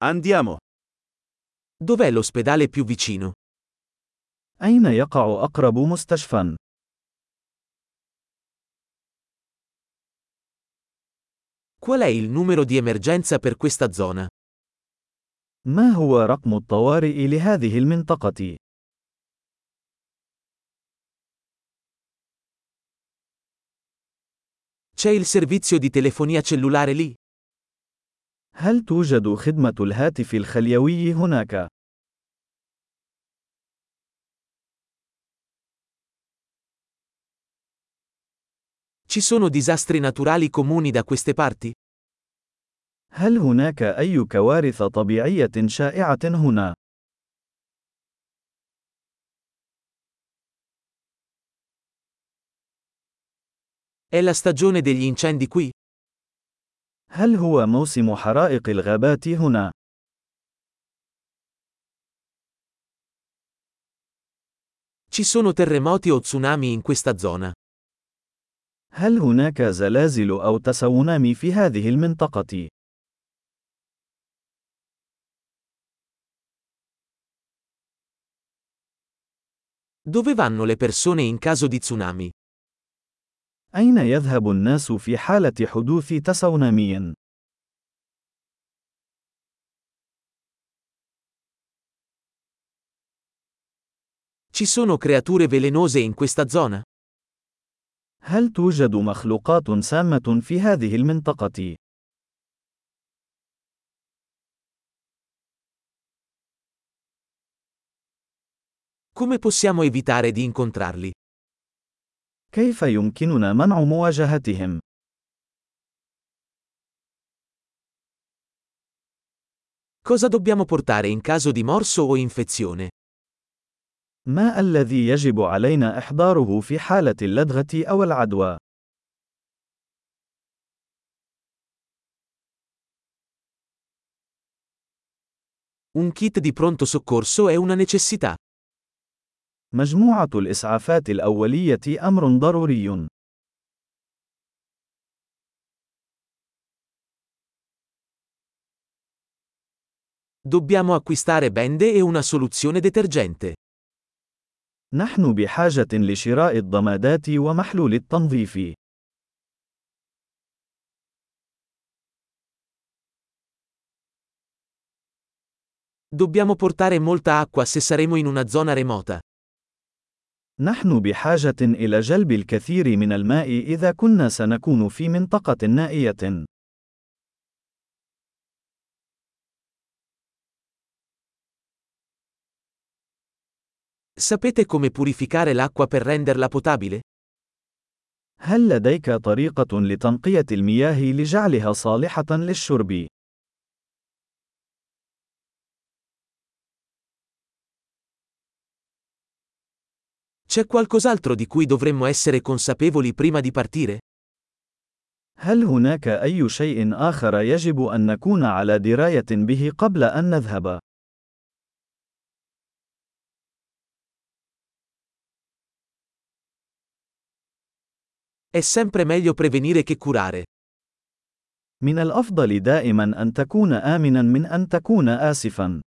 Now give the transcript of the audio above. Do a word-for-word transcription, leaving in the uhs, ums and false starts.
Andiamo. Dov'è l'ospedale più vicino? أين يقع أقرب مستشفى؟ Qual è il numero di emergenza per questa zona? ما هو رقم الطوارئ لهذه المنطقة؟ C'è il servizio di telefonia cellulare lì? هل توجد خدمة الهاتف الخليوي هناك؟ Ci sono disastri naturali comuni da queste parti? هل هناك أي كوارث طبيعية شائعة هنا؟ È la stagione degli incendi qui? هل هو موسم حرائق الغابات هنا؟ Ci sono terremoti o tsunami in questa zona? هل هناك زلازل أو تسونامي في هذه المنطقة؟ Dove vanno le persone in caso di tsunami? أين يذهب الناس في حالة حدوث تسونامي؟ Ci sono creature velenose in questa zona? هل توجد مخلوقات سامة في هذه المنطقة؟ Come possiamo evitare di incontrarli? كيف يمكننا منع مواجهتهم؟ Cosa dobbiamo portare in caso di morso o infezione? ما الذي يجب علينا إحضاره في حالة اللدغة أو العدوى؟ Un kit di pronto soccorso è una necessità. مجموعة الإسعافات الأولية أمر ضروري. Dobbiamo acquistare bende e una soluzione detergente. نحن بحاجة لشراء الضمادات ومحلول التنظيف. Dobbiamo portare molta acqua se saremo in una zona remota. نحن بحاجة إلى جلب الكثير من الماء إذا كنا سنكون في منطقة نائية. Sapete come purificare l'acqua per renderla potabile? هل لديك طريقة لتنقية المياه لجعلها صالحة للشرب؟ C'è qualcos'altro di cui dovremmo essere consapevoli prima di partire? هل هناك أي شيء آخر يجب أن نكون على دراية به قبل أن نذهب؟ È sempre meglio prevenire che curare. من الأفضل دائما أن تكون آمنا من أن تكون آسفا.